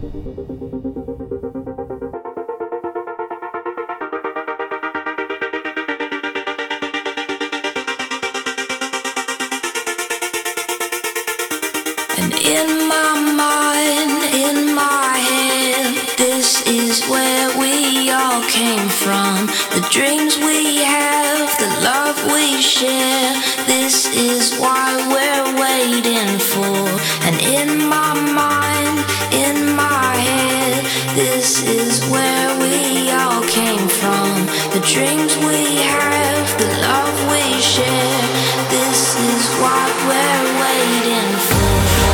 In my mind, in my head, this is where we all came from. The dreams we have, the love we share, this is why we're waiting for. And in my mind, in my head, this is where we all came from. The dreams we have, the love we share, this is what we're waiting for.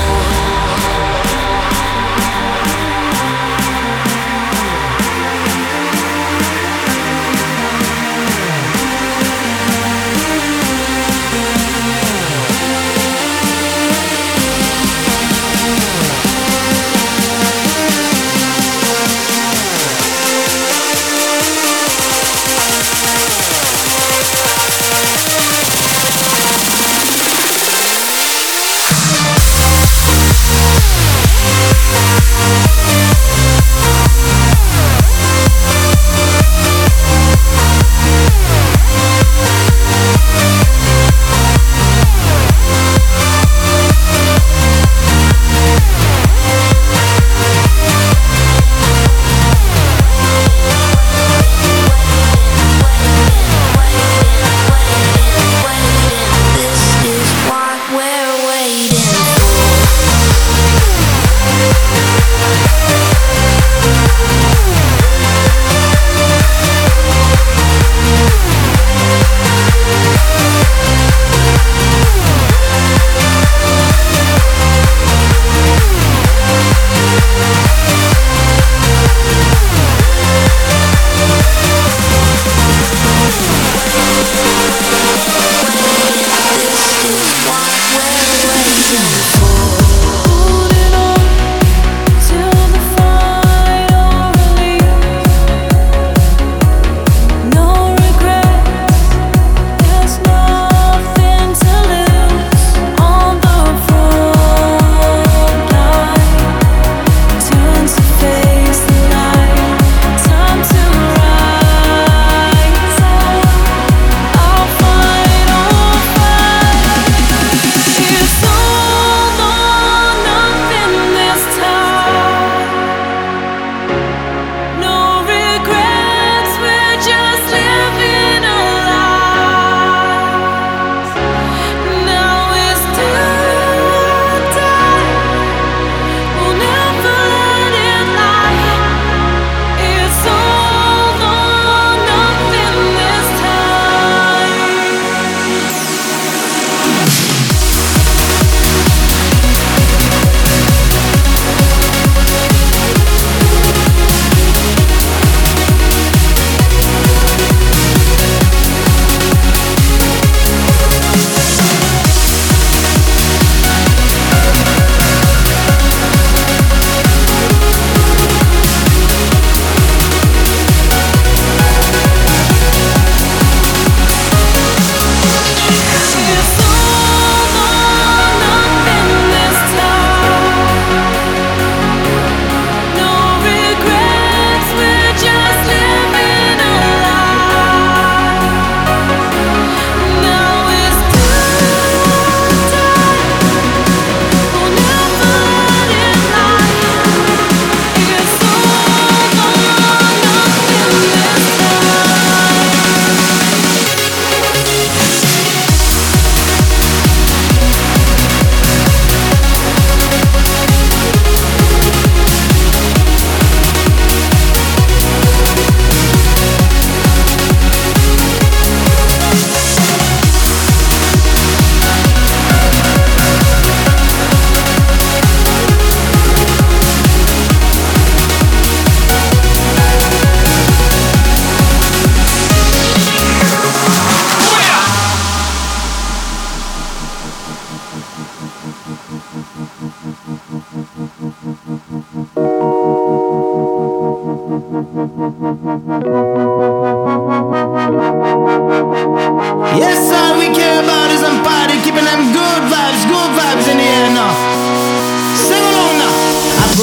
Yes, all we care about is them party, keeping them good vibes in the air now. Sing along now. I put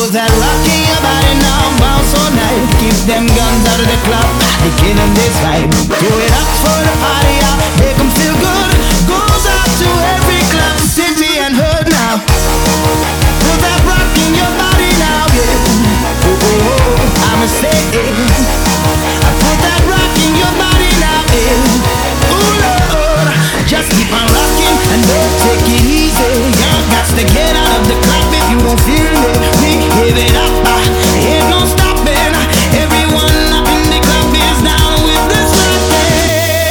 put that rock in your body now, bounce all night. Keep them guns out of the club, they killing this vibe. Throw it up for the party out, make them feel good. Goes out to every club, city and hood now. Put that rock in your body now, yeah. Oh, oh, oh, I'ma say it. I put that rock in your body now, yeah. Ooh, Lord, just keep on rocking and don't take it easy. You got to get out of the club if you don't feel it. We give it up, ain't no stopping. Everyone up in the club is down with this rocking.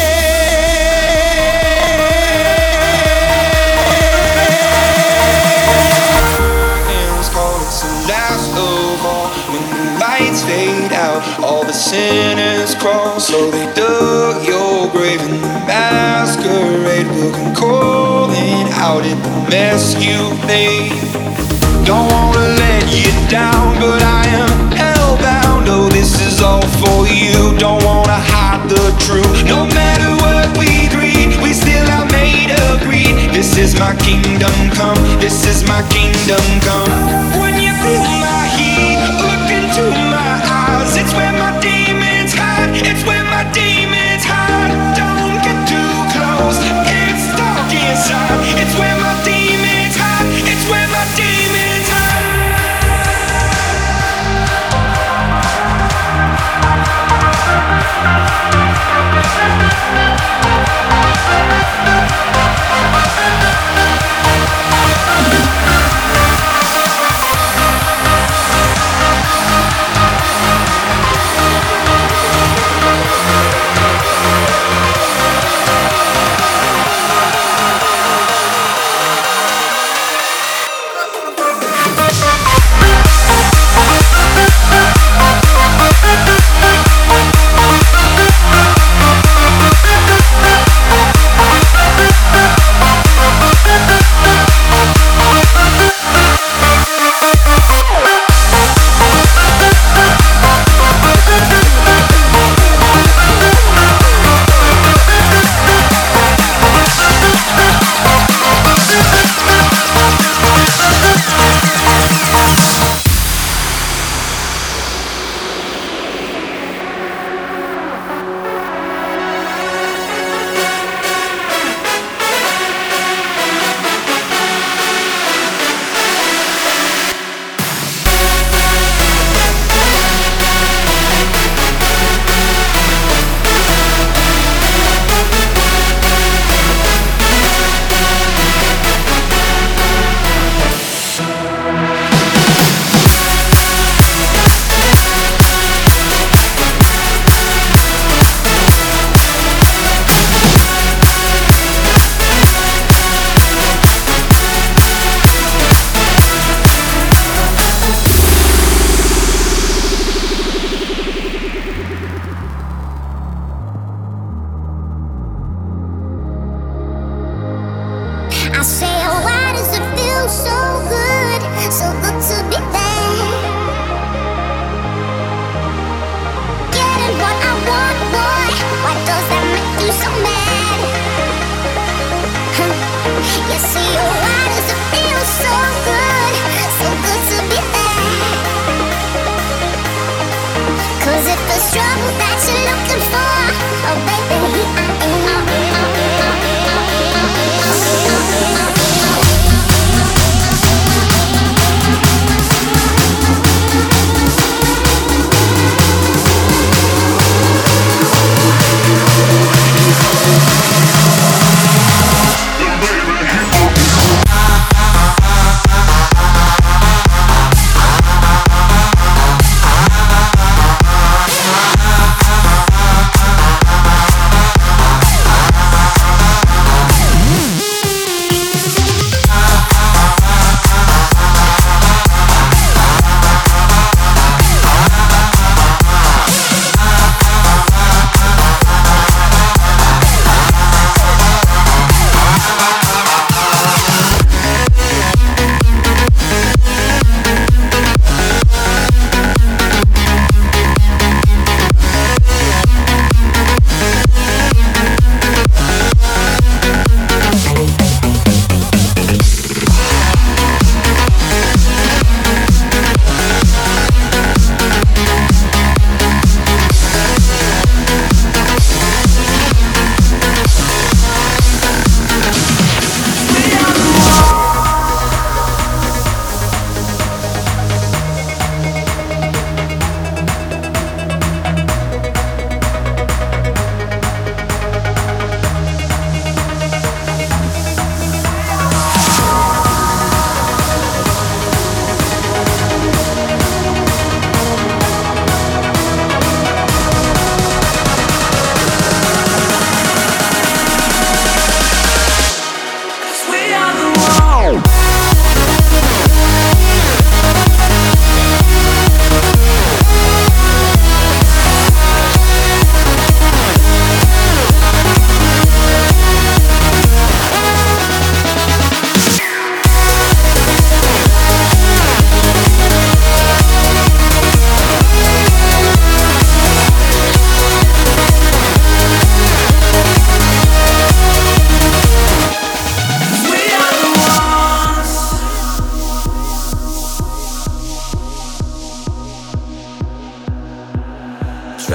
It's called it's the last of all. When the lights fade out, all the sinners crawl. So they dug your grave in the masquerade will come calling out in the mess you made. Don't wanna let you down, but I am hellbound. Oh, this is all for you. Don't wanna hide the truth. No matter what we greed, we still are made of greed. This is my kingdom come. This is my kingdom come. When you feel my heat, look into my eyes. It's where my demons hide. It's where my demons hide. Don't get too close. It's dark inside. It's where my demons hide. It's where my demons hide.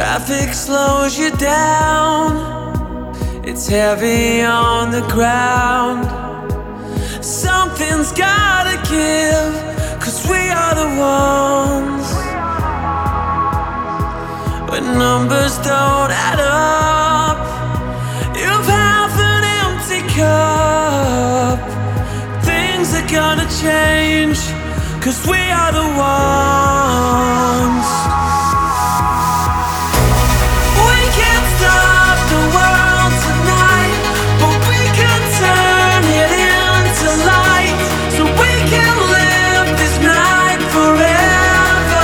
Traffic slows you down. It's heavy on the ground. Something's gotta give, 'cause we are the ones. When numbers don't add up, you've half an empty cup. Things are gonna change, 'cause we are the ones. We can't stop the world tonight, but we can turn it into light, so we can live this night forever.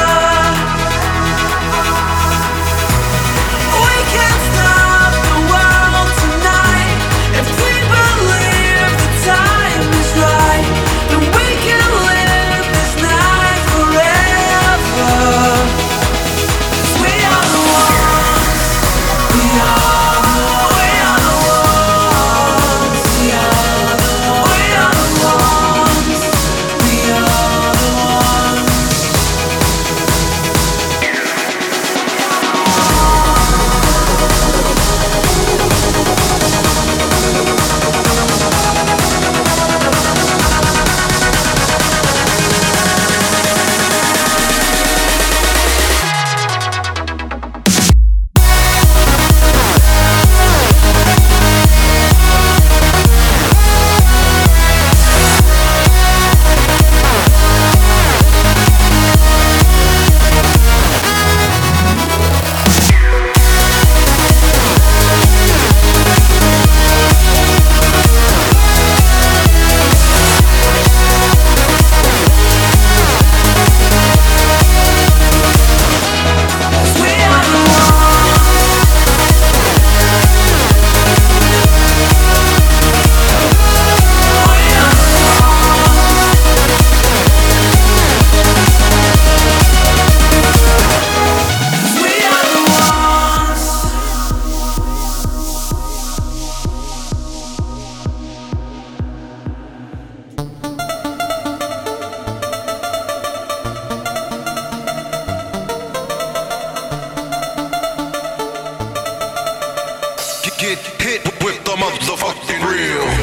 We can't stop the world tonight. If we believe the time is right, then we can live this night forever. 'Cause we are the ones. We are the ones. We are the ones. We are the ones. We are the ones. Get hit with the motherfucking real.